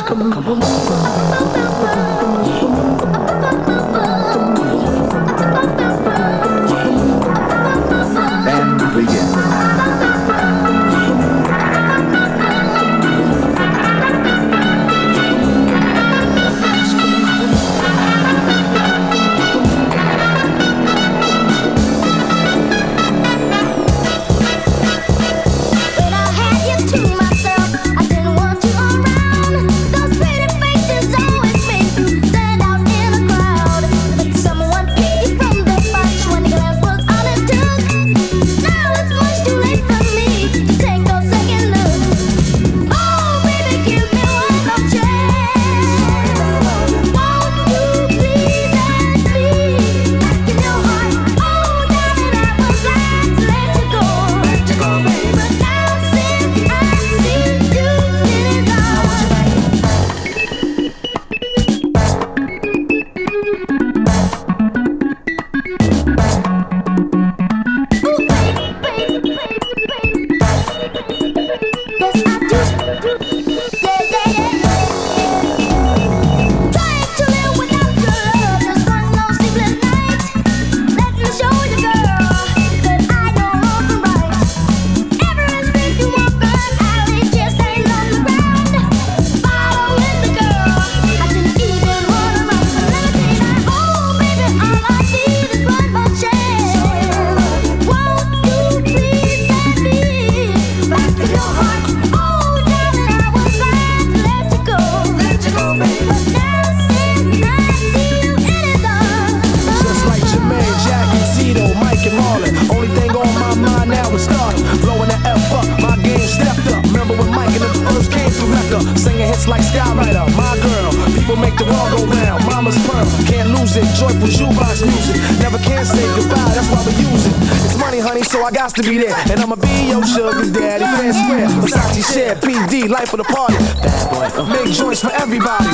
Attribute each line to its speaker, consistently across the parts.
Speaker 1: Got to be there, and I'ma be your sugar daddy. Fair square, Versace share, PD, life of the party. Bad boy, make joints for everybody.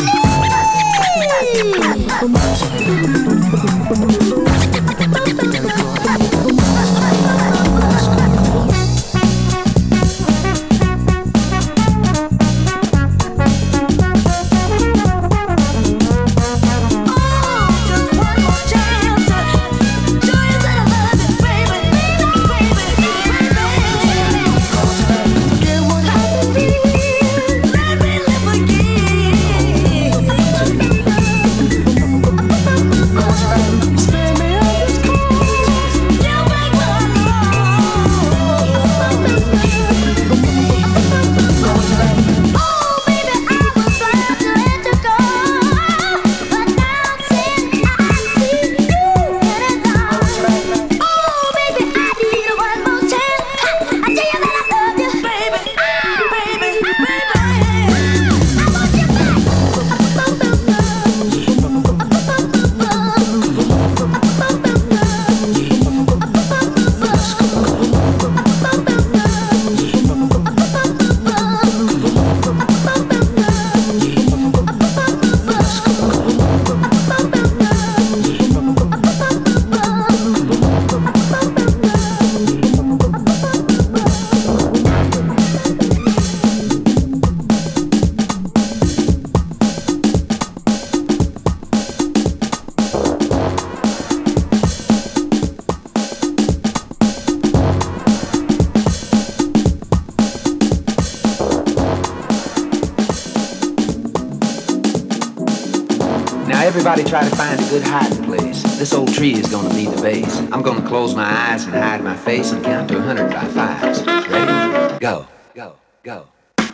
Speaker 2: Everybody try to find a good hiding place. This old tree is gonna be the base. I'm gonna close my eyes and hide my face and count to 100 by fives. Ready? Go, go, go.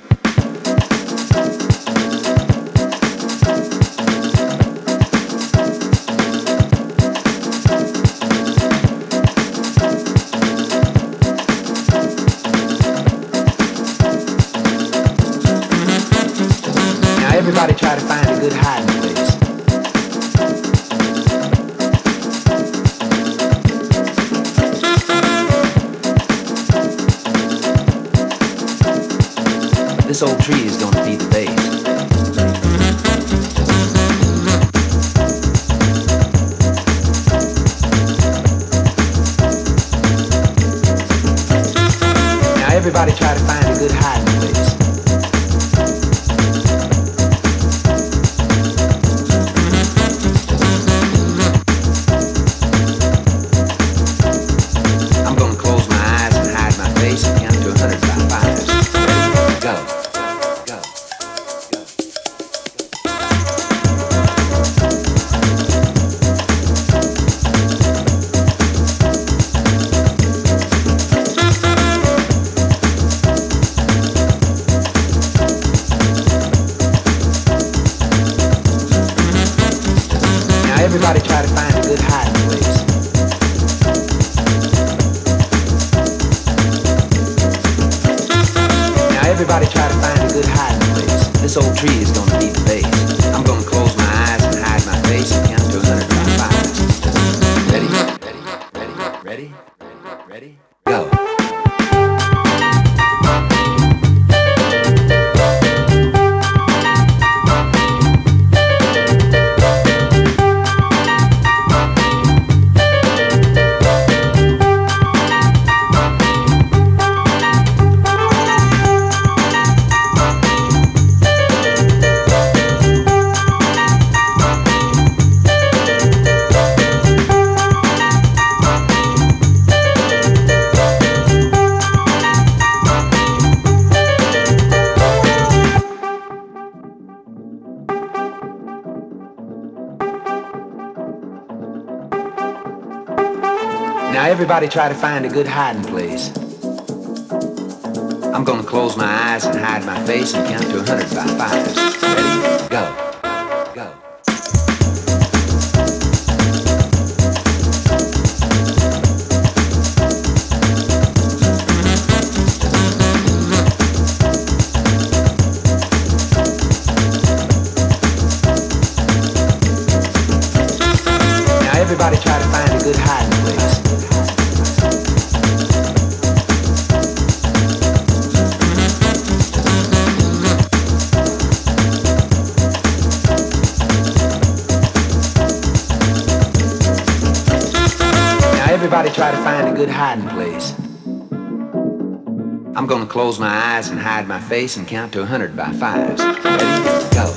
Speaker 2: Now everybody try to find a good hiding place. This old tree is gonna be the base. Now everybody try to find a good hiding place. everybody try to find a good hiding place. Now everybody try to find a good hiding place. This old tree is gonna be the base. I'm gonna close my eyes and hide my face and count to 100 by 5. Ready? Ready? Ready? Ready? Ready? Go. Now everybody try to find a good hiding place. I'm gonna close my eyes and hide my face and count to 100 by 5. Ready? Go. Go. Now everybody try to find a good hiding place. Everybody try to find a good hiding place. I'm gonna close my eyes and hide my face and count to 100 by 5. Ready? Go.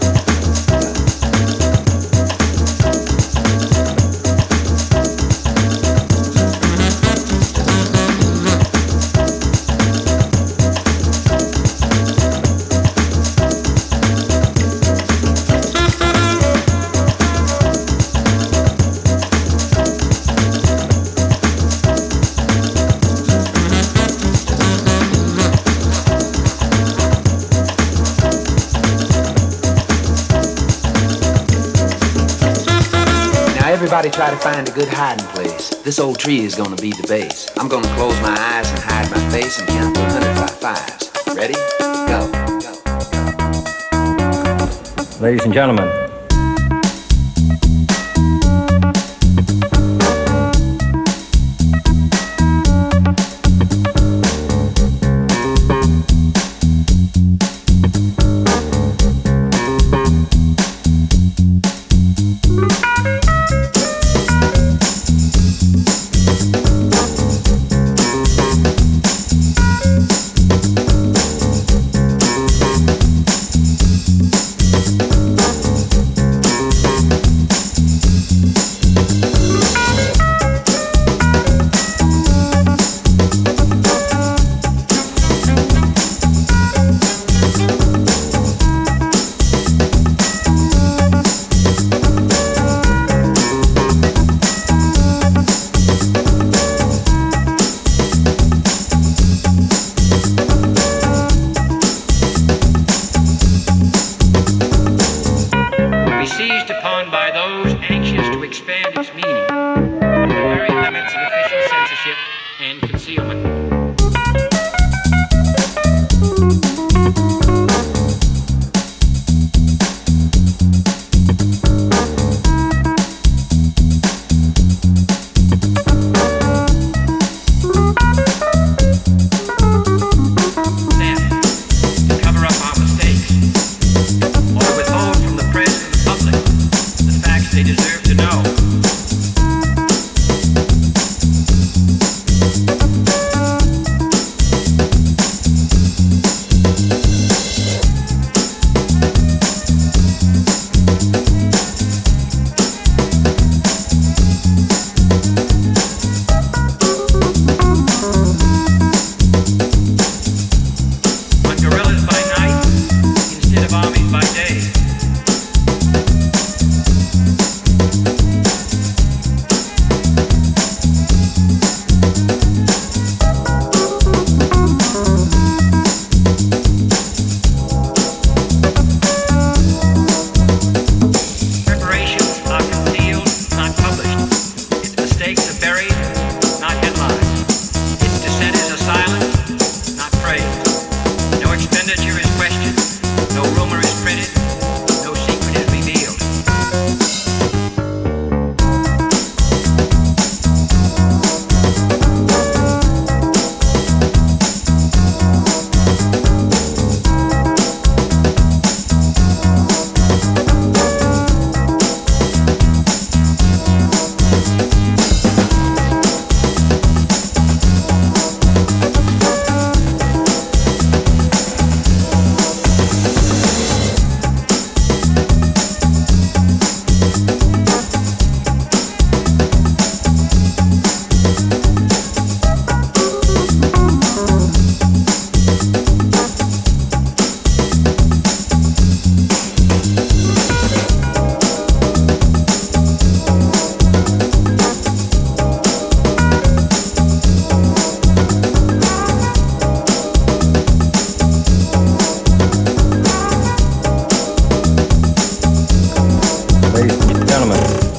Speaker 2: Everybody try to find a good hiding place. This old tree is gonna be the base. I'm gonna close my eyes and hide my face and count to 100 by 5. Ready? Go. Go.
Speaker 3: Ladies and gentlemen,
Speaker 4: they deserve to know.
Speaker 3: gentlemen.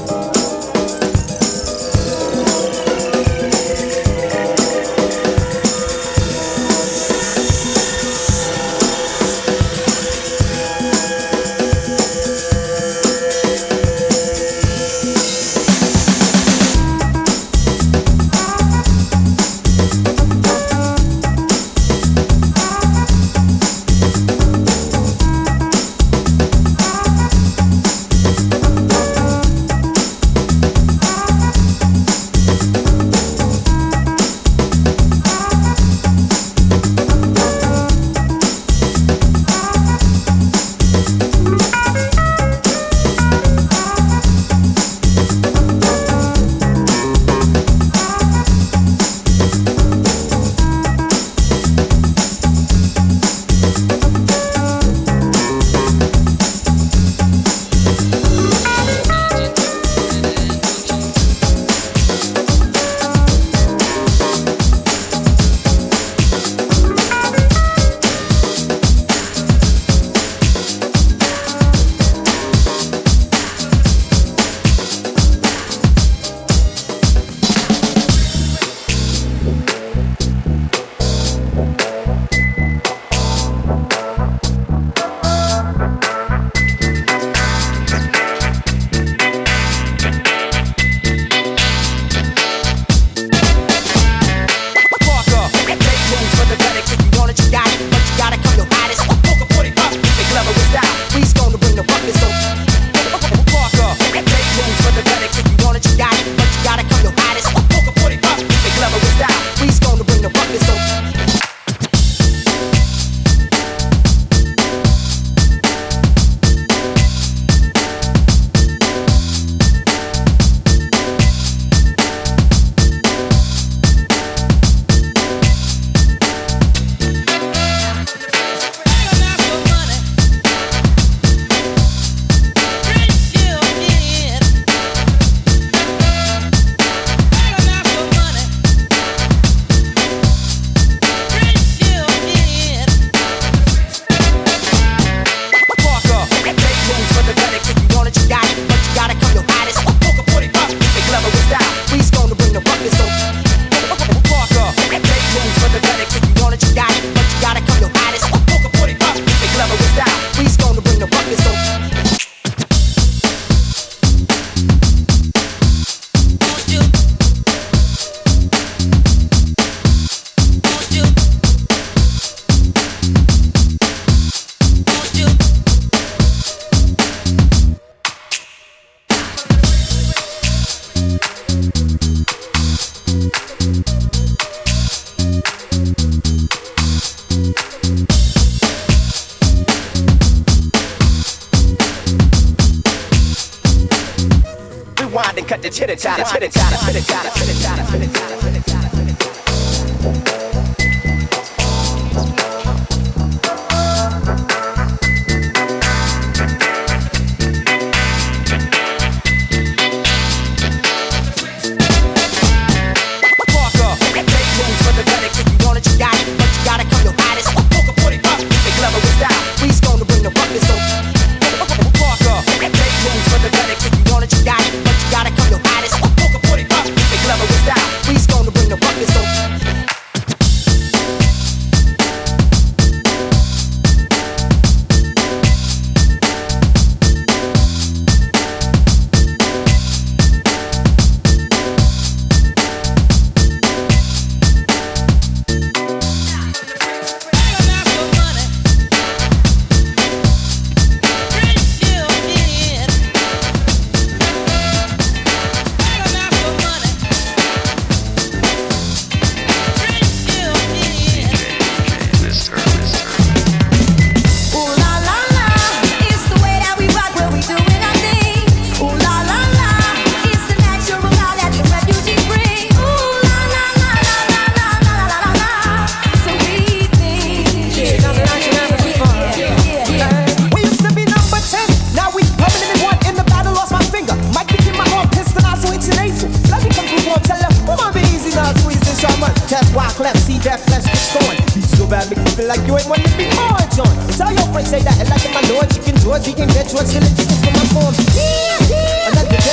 Speaker 1: Cut the chitter chatter, chitter chatter, chitter chatter, chitter chatter, chitter chatter, chitter chatter.
Speaker 4: Say that, like in my lord, chicken George, we can get George, still a chicken for my form. Yeah, yeah.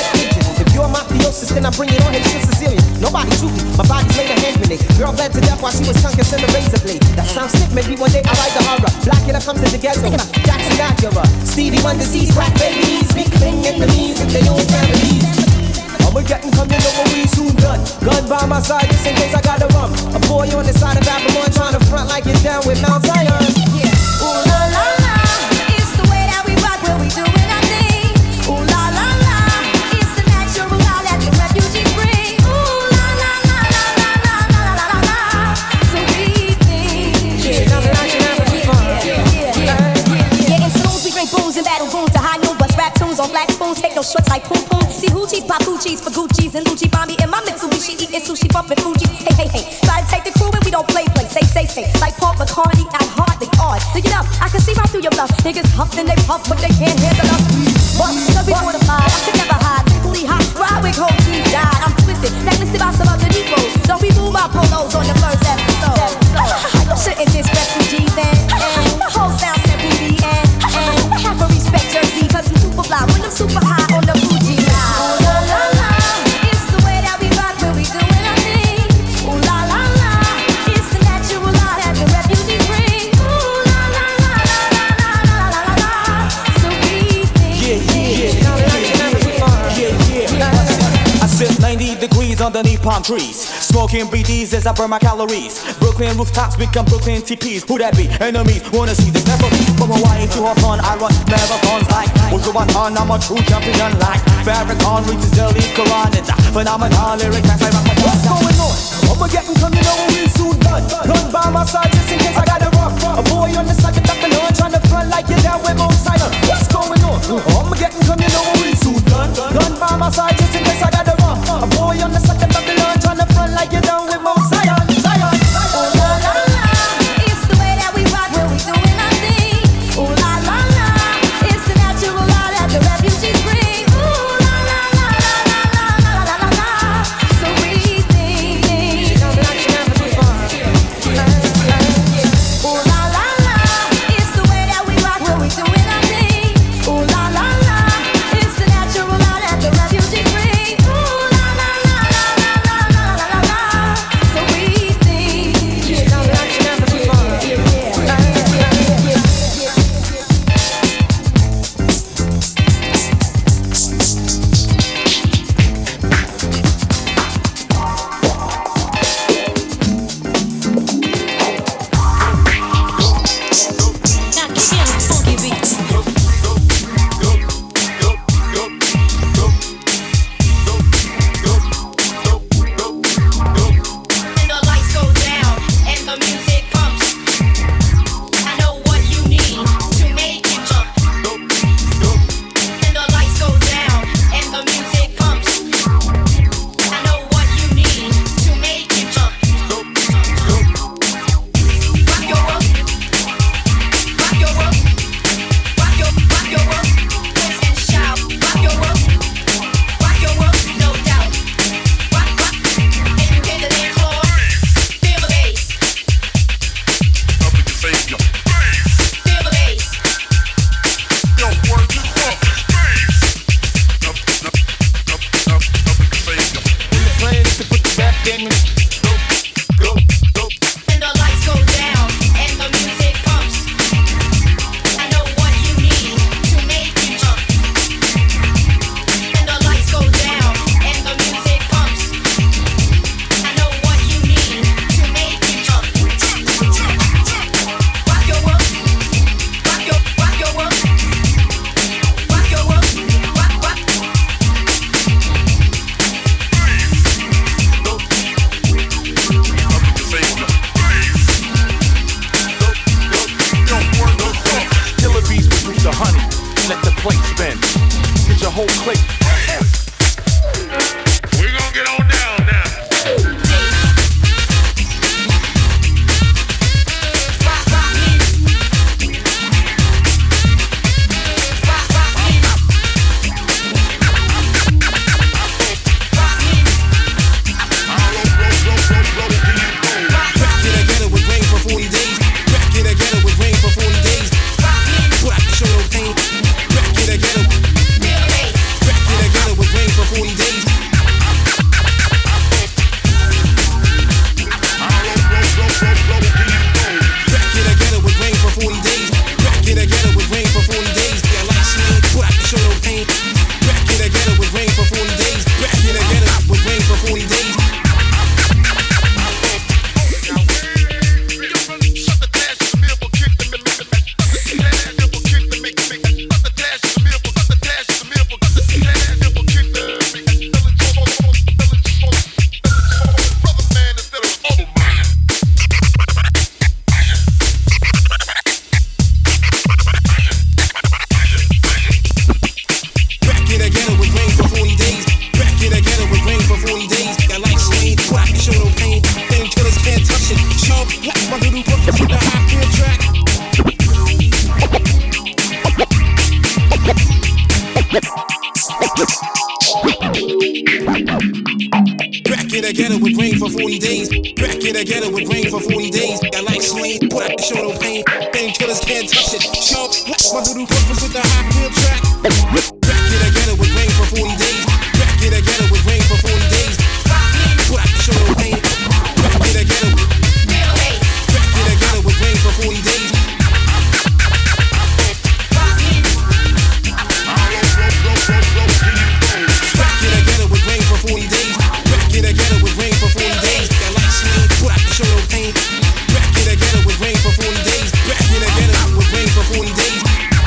Speaker 3: nobody shoot me. My body's made a hand grenade. Girl bled to death while she was tongue kissing the razor blade. That sounds sick, maybe one day I write the horror. Black killer comes to the ghetto. Jackson Acura, Stevie Wonder sees crack babies, big bang enemies if they own families. I'ma get and come, you know what we soon done. Gun by my side just in case I gotta run. A boy on the side of Babylon trying to front like you're down with Mount Zion. Yeah. Ooh la la la, it's the way that we rock when we doing our thing. Ooh la la la, it's the natural law that the refugees bring. Ooh la la la la la la la la la la. So we think. Yeah, now that I should have a good fun. Yeah, in saloons we drink booze and battle rooms to high noon. Bust rap tunes on black spoons, take no shorts like poom poom. See hoochies, pop hoochies for Gucci's and Lucci Bombi in my Mitsubishi eating sushi, bumping Fuji. Hey, hey, hey, try to take the crew and we don't play. Say, like Paul McCartney, I'm hardly odd. Look it up, I can see right through your bluff. Niggas huff and they puff, but they can't handle us. Bust, cause we mortified, I could never hide. Simply hot, ride with cold cheese died. I'm twisted, blacklisted by some other Negroes. Don't remove my polos on the first episode. You shouldn't diss refugees and the whole sound said booty and half a respect Jersey, cause I'm super fly when I'm super high on the Fuji line. Ooh la la la, it's the way that we rock when we doing our thing. Ooh la la la, it's the natural law that the refugees bring. Ooh la la la la la la la la la. So we think.
Speaker 4: I sit 90 degrees underneath palm trees, smoking BDs as I burn my calories. Brooklyn rooftops become Brooklyn TPs. Who that be? Enemies wanna see this never be. From Hawaii to Hawthorne, I run marathons like Wujuwatan. I'm a true champion like Farrakhan reaches the lead Quran. It's a phenomenon, lyric mass like
Speaker 3: What's going on? I'ma get and come, you know what we soon done. Gun by my side just in case I gotta run. A boy on the side of Babylon trying to front like you're down with Mount Zion. What's going on? I'ma get and come, you know what we soon done. Gun by my side just in case I gotta run. A boy on the side of Babylon trying to front like you're down with Mount Zion. Zion.
Speaker 5: Ooh la la la, it's the way that we rock when we doing our thing. Ooh la la la, it's the natural law that the refugees bring. Ooh la la la la la la la la la. So we think.
Speaker 3: Now that I should have a good fun.
Speaker 5: Ooh la la la, it's the way that we rock when we doing our thing. Ooh la la la, it's the natural law that the refugees bring. Ooh la la la la la la la la la. So we think.
Speaker 3: Now that I should have a good fun.
Speaker 5: Now kick in a funky beat.
Speaker 6: And the lights go down and the music pumps. I know what you need to make you jump. And the lights go down and the music pumps. I know what you need to make you jump. Rock your world, rock your world, rock your world, dance and shout. Rock your world, no doubt. Rock, and you hit the dance floor. Feel the bass. Feel the bass.
Speaker 4: plan is to put the rap game in.
Speaker 6: And the lights go down and the music pumps. I know what you need to make you jump. And the lights go down and the music pumps. I know what you need to make you jump. Rock your world, rock your world, rock your world, rock.
Speaker 7: it together with rain for 40 days. Back it together with rain for 40 days. I like swing, put out the show no pain. Painkillers can't touch it. Show my little brothers with the hot wheel track. Back it together with rain for 40 days. Back it together with rain for 40 days. Put out the show no pain. Back it together. Back it together with rain for 40 days. Back it together with rain for 40 days. Back it together with rain for 40 days. Got like swing, put out the show no pain. Back it together with rain for 40 days. Back it together with rain for 40 days.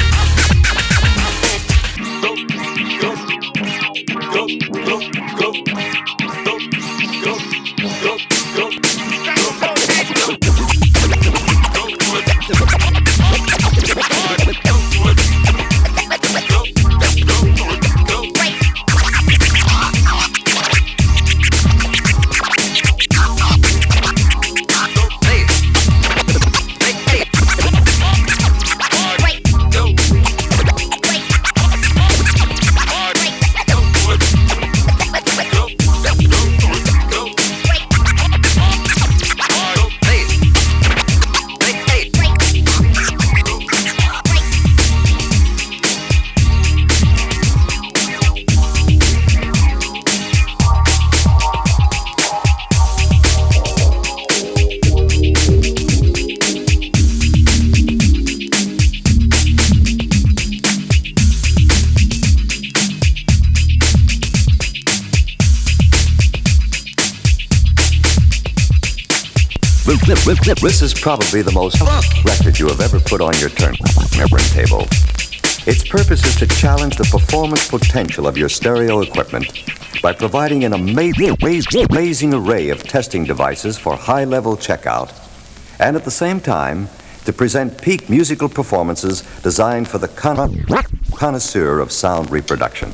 Speaker 8: This is probably the most record you have ever put on your turntable. Its purpose is to challenge the performance potential of your stereo equipment by providing an amazing array of testing devices for high-level checkout, and at the same time, to present peak musical performances designed for the connoisseur of sound reproduction.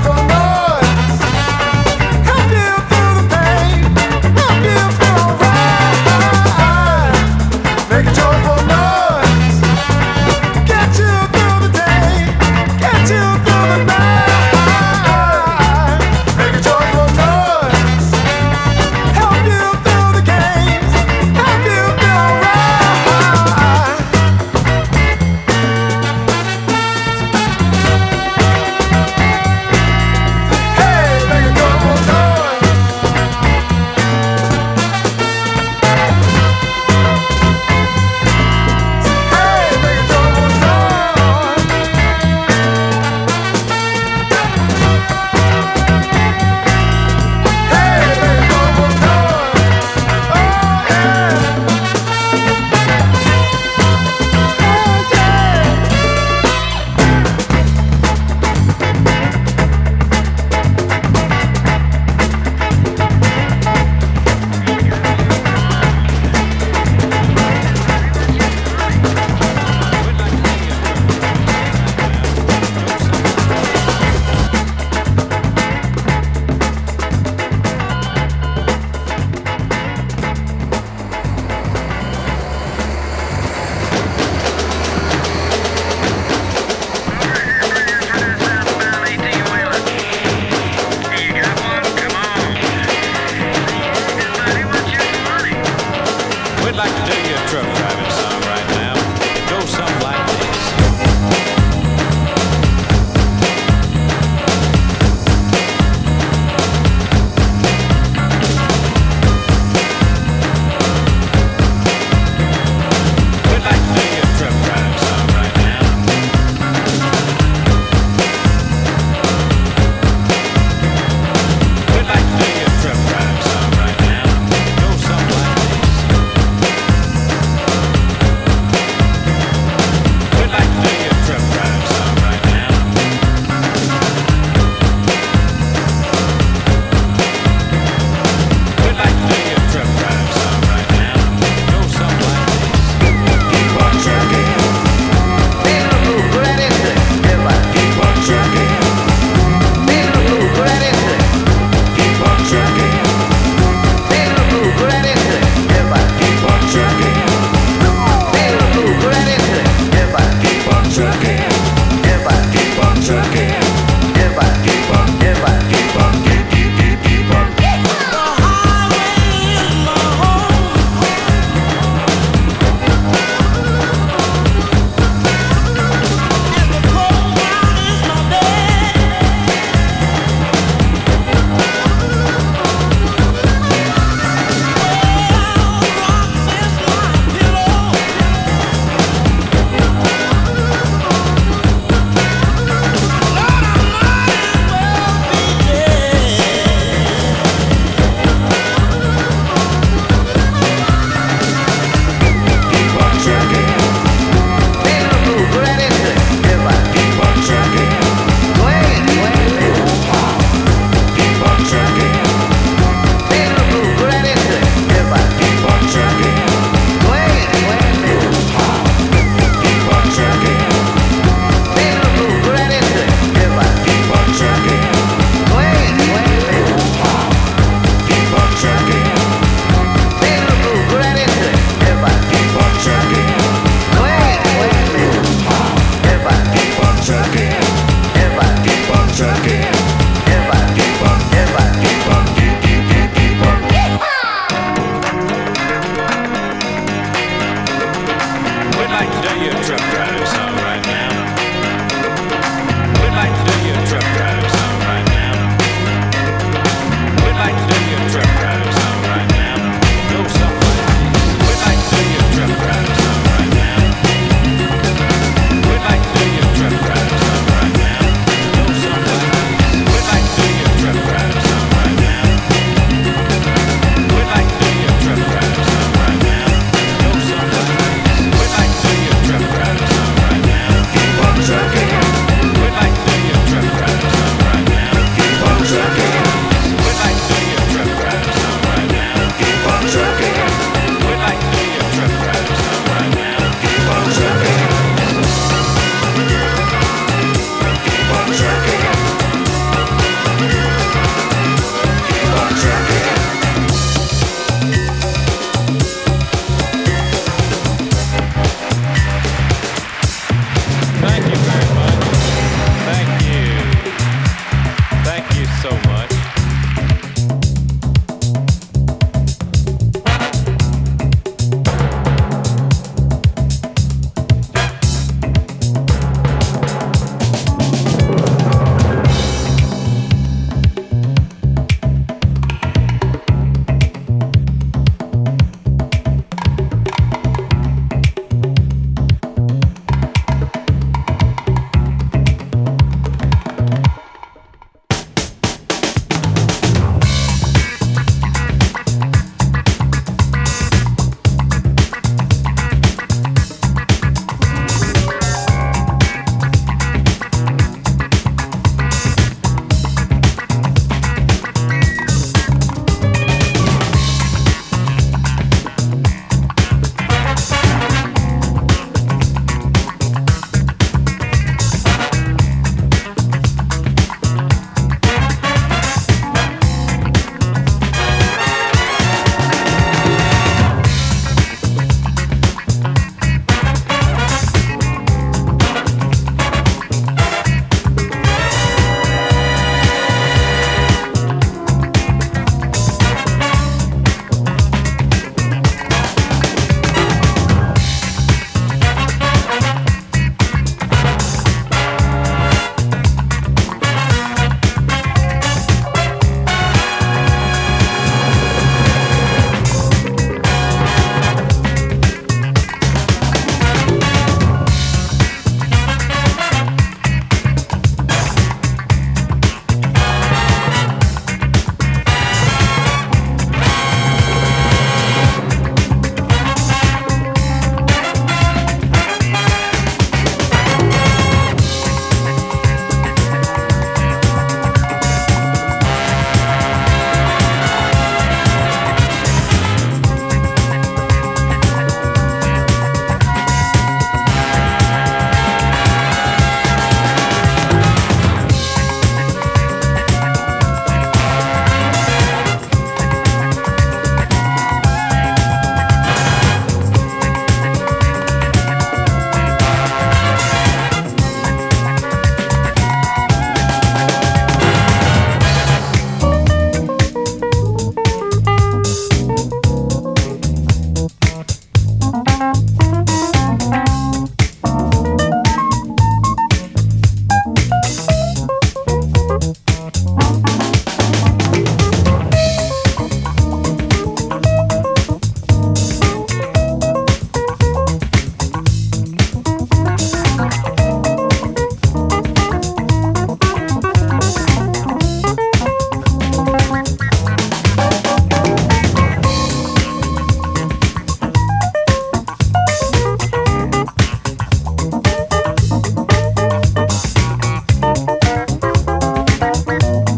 Speaker 1: joyful noise. Help you through the pain. Help you feel alright. Make a joyful noise. Get you through the day. Get you through the night. Make a joyful noise. Help you through the games. Help you feel alright.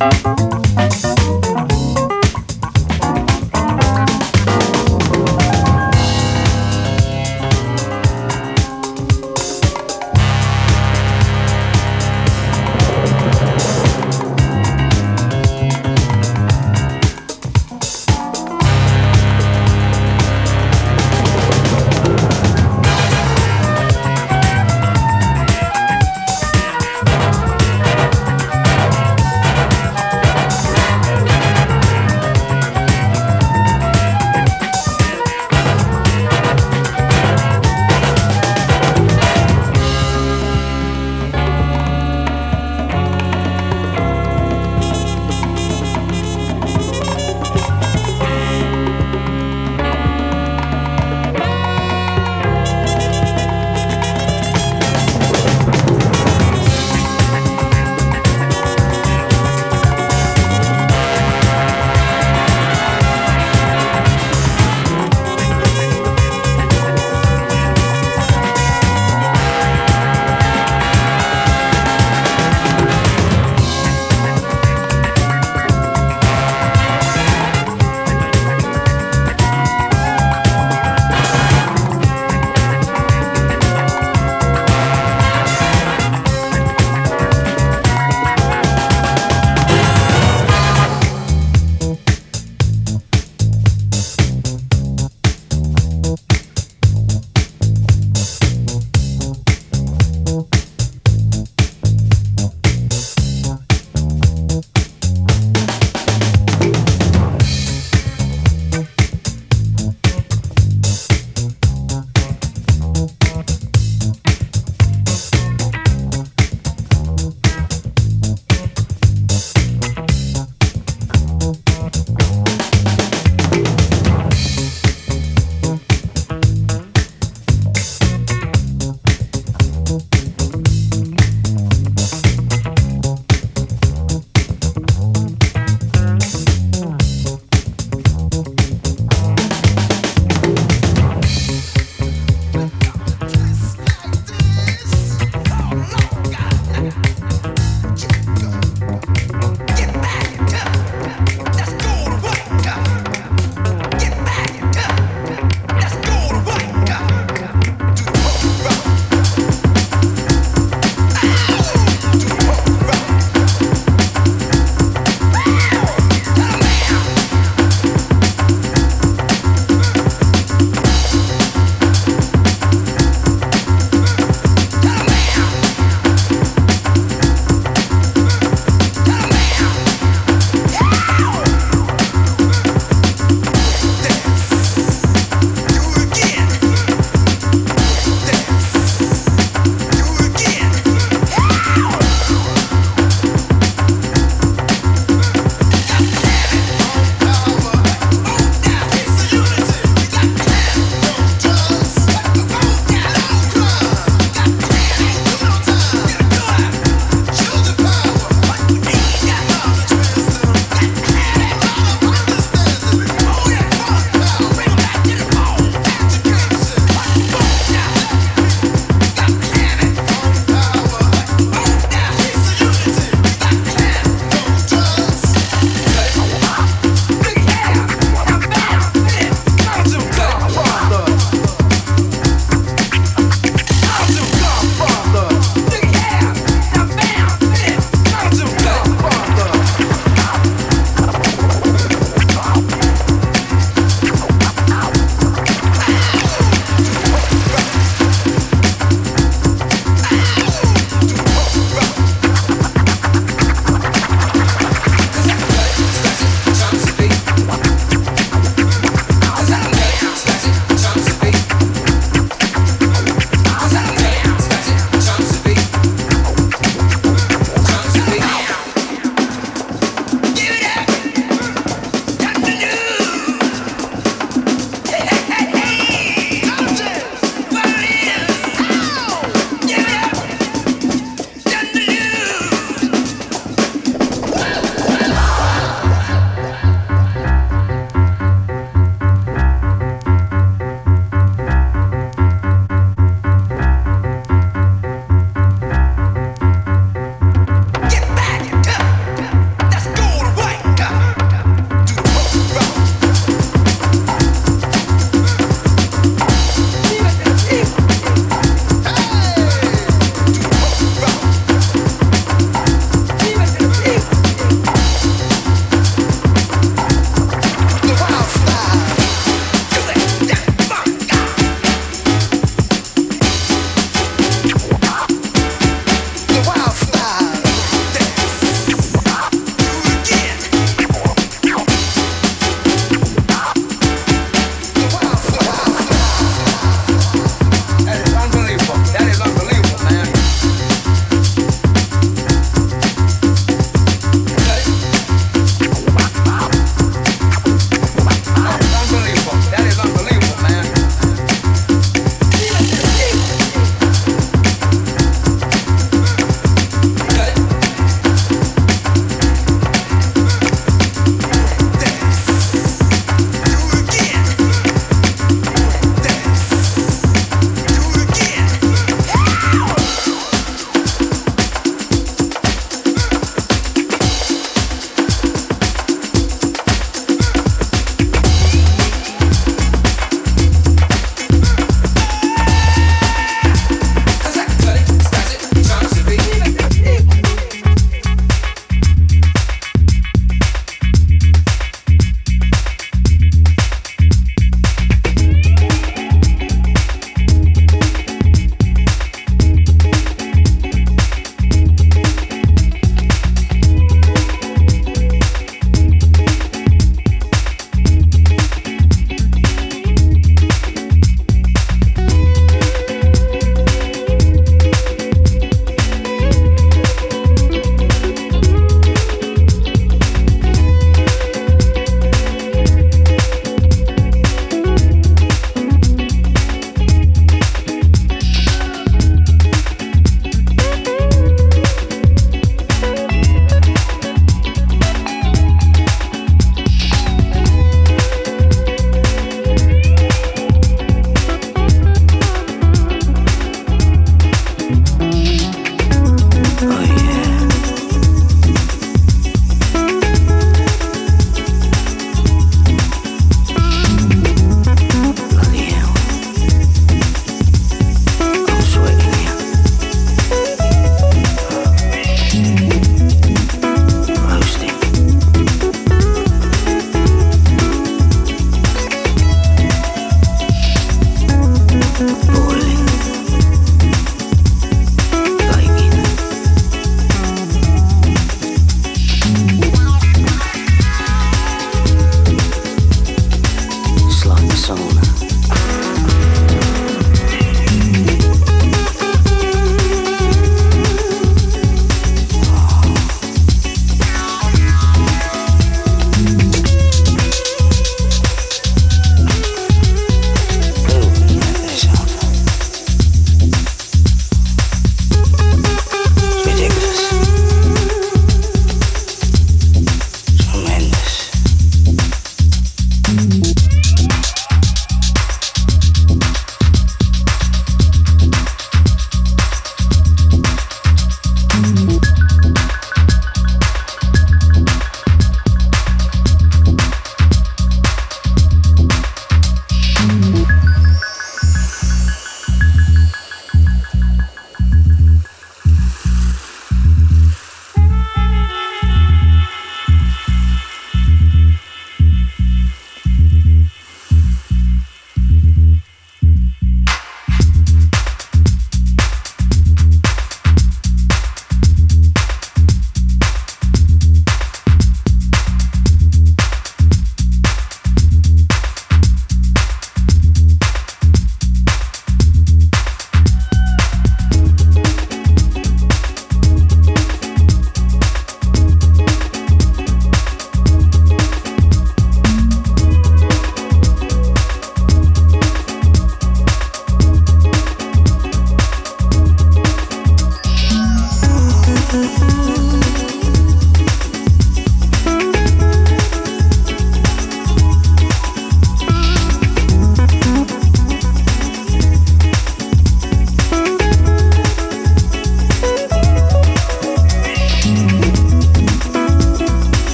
Speaker 1: Thank